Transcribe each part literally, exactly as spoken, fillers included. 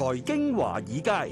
財經華爾街，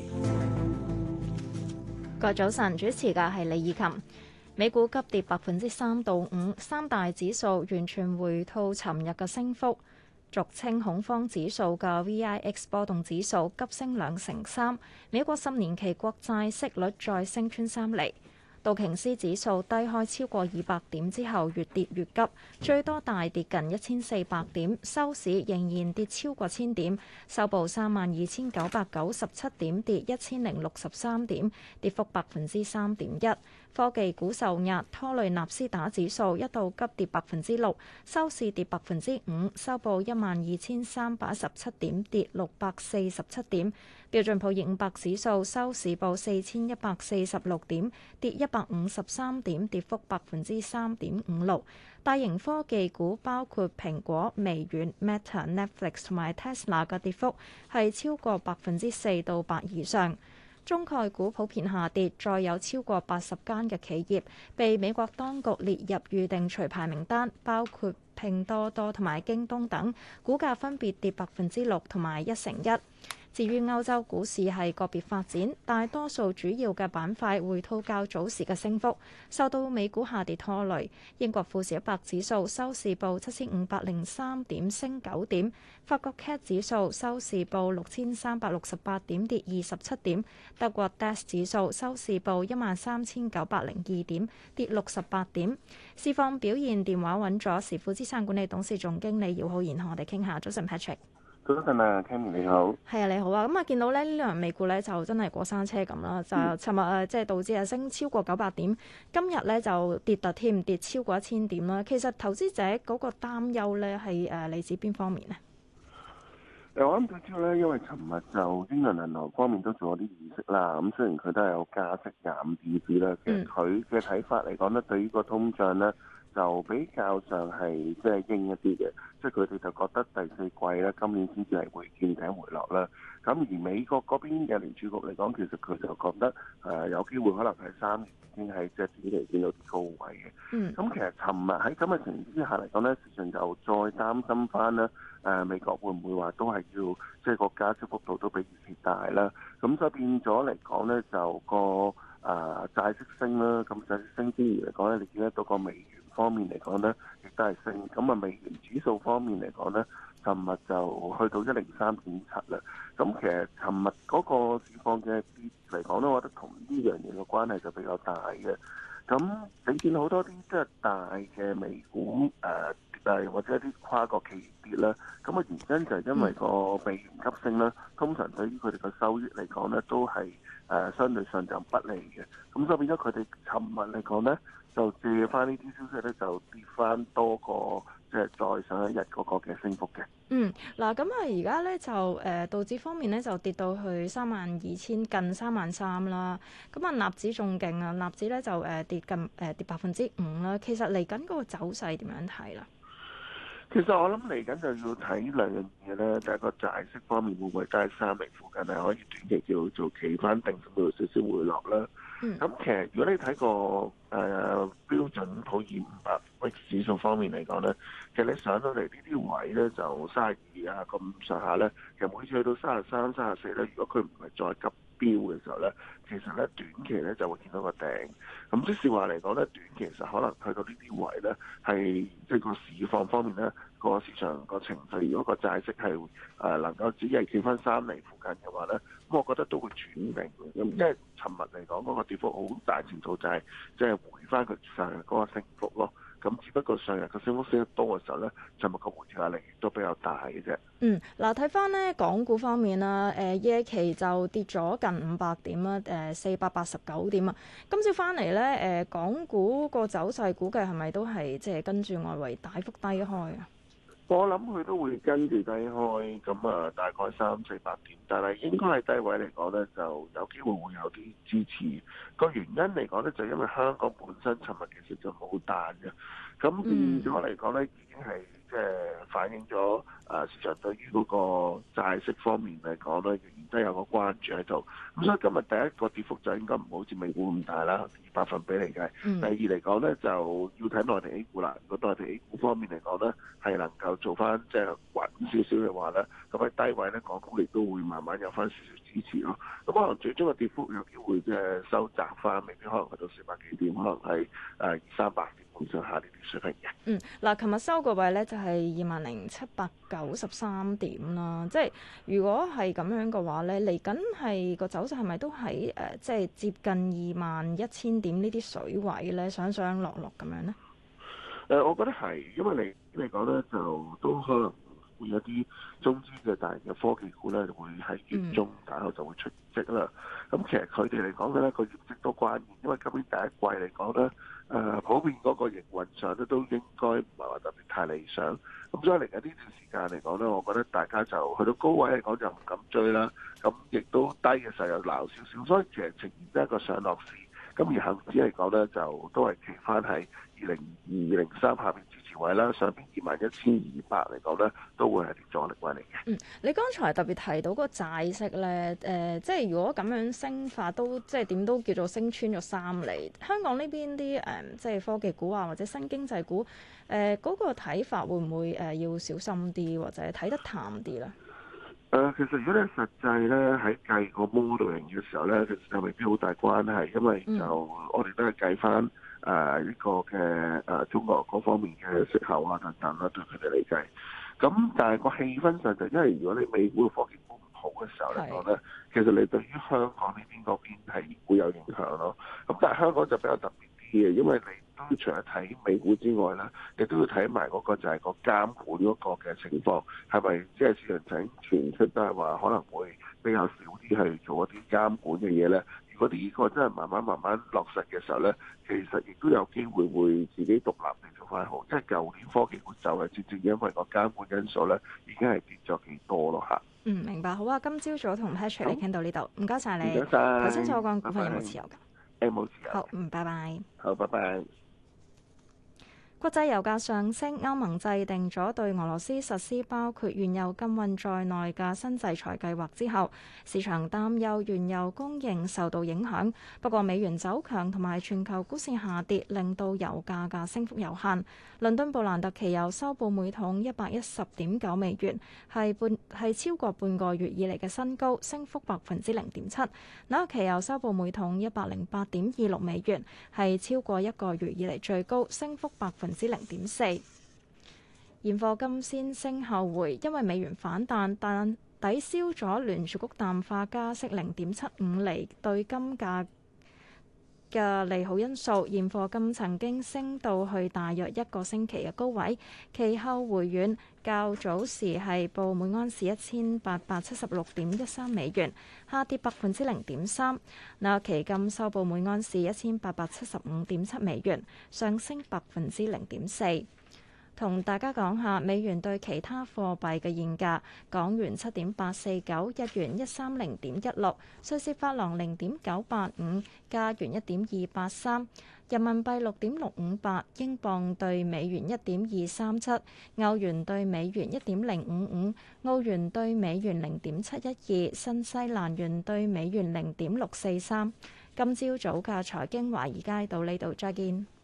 各位早晨，主持嘅係李以琴。美股急跌百分之三到五，三大指數完全回吐尋日嘅升幅。俗稱恐慌指數嘅 V I X 波動指數急升兩成三。美國十年期國債息率再升穿三厘。道瓊斯指數低開超過二百點之後，越跌越急，最多大跌近一千四百點，收市仍然跌超過千點，收報三萬二千九百九十七點，跌一千零六十三點，跌幅百分之三點一。科技股受壓，拖累納斯達克指數一度急跌百分之六，收市跌百分之五，收報一萬二千三百一十七點，跌六百四十七點。標準普爾五百指數收市報四千一百四十六點，跌一百五十三點，跌幅百分之三點五六。大型科技股包括蘋果、微軟、Meta、Netflix 同埋 Tesla 嘅跌幅係超過百分之四到八以上。中概股普遍下跌，再有超過八十間嘅企業被美國當局列入預定除牌名單，包括拼多多同埋京東等，股價分別跌百分之六同埋一成一。至於歐洲股市係個別發展，大多數主要嘅板塊回吐較早時嘅升幅，受到美股下跌拖累。英國富時一百指數收市報七千五百零三點，升九點；法國 C A C 指數收市報六千三百六十八點，跌二十七點；德國 D A X 指數收市報一萬三千九百零二點，跌六十八點。市況表現，電話揾咗時富資產管理董事總經理姚浩然同我哋傾下。早晨 Patrick。 早晨啊 Kenny 你好。 係啊，你好啊。咁啊，見到咧呢兩日美股咧就真係過山車咁啦，就尋日誒即係導致啊升超過九百點，今日咧就跌突添，跌超過一千點啦。其實投資者嗰個擔憂咧係誒嚟自邊方面呢？ 誒，我諗最主要咧，因為尋日就英倫銀行方面都做咗啲議息啦。咁雖然佢都係有加息廿五點子啦，其實佢嘅睇法嚟講咧，對於個通脹咧，就比較上係即係鷹一啲嘅，即係佢哋就覺得第四季咧今年先至係會見頂回落啦。咁而美國嗰邊嘅聯儲局嚟講，其實佢就覺得誒、呃、有機會可能係三年已經係即係短期見到啲高位嘅。嗯。咁其實尋日喺咁嘅情況之下嚟講咧，市場就再擔心翻啦。誒、呃、美國會唔會話都係要即係個加息幅度都比預期大啦？咁所以變咗嚟講咧，就個誒、呃、債息升啦。咁債息升之餘嚟講咧，你見得到個美元方面嚟講咧，亦都係升。咁啊，美元指數方面嚟講咧，尋日就去到一零三點七啦。咁其實尋日嗰個市況嘅跌嚟講咧，我覺得同呢樣嘢嘅關係就比較大嘅。咁你見好多啲即係大嘅美股誒誒，或者一啲跨國企業跌啦。咁啊，原因就係因為個美元急升啦。通常對於佢哋嘅收益嚟講咧，都係誒相對上就不利嘅。咁所以變咗佢哋尋日嚟講咧，就借翻呢啲消息咧，就跌翻多過即係再上一日嗰個嘅升幅嘅。 嗯，嗱，咁啊，而家咧就誒道指方面咧就跌到去三萬二千近三萬三啦。咁啊，納指仲勁啊，納指咧就誒跌近誒跌百分之五啦。其實嚟緊嗰個走勢點樣睇啦？ 其實我諗嚟緊就要睇兩樣嘢咧，第一個債息方面會唔會都係三厘附近係可以短期叫做企翻定，甚至乎少少回落啦。咁、嗯、其實如果你睇個誒、呃、標準普爾五百指數方面嚟講咧，其實你上到嚟呢啲位咧就三十二啊咁上下咧，其實每次去到三十三、三十四咧，如果佢唔係再急飆嘅時候咧，其實咧短期咧就會見到個頂。咁即是話嚟講咧，短期其實可能去到呢啲位咧，係即係個市況方面咧，個市場個情緒，如果個債息係誒、呃、能夠只係企翻三厘附近嘅話咧，咁我覺得都會轉定嘅。咁因為尋日嚟講嗰個跌幅好大程度就係即係回翻佢上日嗰個升幅咯。咁只不過上日個升幅升得多嘅時候咧，尋日個回調壓力亦都比較大嘅啫。 嗯，嗱睇翻咧港股方面啦，誒夜期就跌咗近五百點啦，誒四百八十九點啊。今朝翻嚟咧，誒港股個走勢估計係咪都係即係跟住外圍大幅低開啊？ 我諗佢都會跟住低開，咁啊大概三四百點，但係應該係低位嚟講咧，就有機會會有啲支持。個原因嚟講咧，就因為香港本身尋日其實就冇彈嘅，咁變咗嚟講咧，已經係即係反映咗啊市場對於嗰個債息方面嚟講咧，仍然都有個關注喺度。咁所以今日第一個跌幅就應該唔好似美股咁大啦，以百分比嚟計。 嗯、 第二嚟講咧，就要睇內地 A 股啦。如果內地 A 股方面嚟講咧，係能夠做翻即係穩少少嘅話咧，咁喺低位咧，港股亦都會慢慢有翻少少支持咯。咁可能最終嘅跌幅有機會即係收窄翻，未必可能去到四百幾點，可能係誒二三百點咁上下呢啲水平嘅。 嗯，嗱，琴日收個位咧就係二萬零七百九十三點啦。即係如果係咁樣嘅話咧，嚟緊係個走勢係咪都喺誒、呃、即係接近二萬一千點呢啲水位咧，上上落落咁樣咧？ 誒、呃，我覺得係，因為你嚟講咧，就都可能會有啲中資嘅大型嘅科技股咧，會喺月中打後就會出業績啦。咁、嗯、其實佢哋嚟講嘅咧，個業績都關鍵，因為今年第一季嚟講咧，誒、呃、普遍嗰個營運上咧都應該唔係話特別太理想。咁所以嚟緊呢段時間嚟講咧，我覺得大家就去到高位嚟講就唔敢追啦。咁亦都低嘅時候又撈少少，所以其實呈現得一個上落市。咁而恒指嚟講咧，就都係企翻喺二零二零三下邊支持位啦，上邊二萬一千二百嚟講咧，都會係啲阻力位嚟嘅。 嗯，你剛才特別提到個債息咧，誒、呃，即係如果咁樣升法都即係點都叫做升穿咗三厘。香港呢邊啲誒，即係科技股啊，或者新經濟股，誒、呃，嗰、那個睇法會唔會誒、呃、要小心啲，或者睇得淡啲咧？ 誒、呃，其實如果你實際咧喺計個 model 型嘅時候咧，其實就未必好大關係，因為就、嗯、我哋都係計翻誒呢個嘅誒、呃、中國嗰方面嘅息口啊等等啦，對佢哋嚟計。咁但係個氣氛上就因為如果你美股嘅科技股唔好嘅時候嚟講咧，其實你對於香港呢邊嗰邊係會有影響咯。咁但係香港就比較特別啲嘅，因為你都除咗睇美股之外啦，亦都要睇埋嗰個就係個監管嗰個嘅情況，係咪即係市場上傳出都係話可能會比較少啲去做一啲監管嘅嘢咧？如果呢個真係慢慢慢慢落實嘅時候咧，其實亦都有機會會自己獨立地做翻好。因為舊年科技股就係正正因為個監管因素咧，已經係跌咗幾多咯嚇。 嗯，明白。好啊，今朝早同 Patrick 嚟傾到呢度，唔該晒你。 唔該晒。 頭先所講股份有冇持有㗎？ 誒冇持有。 好，嗯，拜拜。 好，拜拜。 國際油價上升，歐盟制定咗對俄羅斯實施包括原油禁運在內嘅新制裁計劃之後，市場擔憂原油供應受到影響。不過美元走強同埋全球股市下跌，令到油價嘅升幅有限。倫敦布蘭特期油收報每桶一百一十點九美元，係半係超過半個月以嚟嘅新高，升幅百分之零點七。紐約期油收報每桶一百零八點二六美元，係超過一個月以嚟最高，升幅百分之零點四。現貨金先升後回，因為美元反彈，但抵消咗聯儲局淡化加息零點七五厘對金價嘅利好因素。現貨金曾經升到去大約一個星期嘅高位，其後回軟，較早時係報每安士一千八百七十六點一三美元，下跌百分之零點三。那期金收報每安士一千八百七十五點七美元，上升百分之零點四。同大家講下美元對其他貨幣嘅現價：港元七點八四九，日元一三零點一六，瑞士法郎零點九八五，加元一點二八三，人民幣六點六五八，英鎊對美元一點二三七，歐元對美元一點零五五，澳元對美元零點七一二，新西蘭元對美元零點六四三。今朝早嘅財經華爾街到呢度，再見。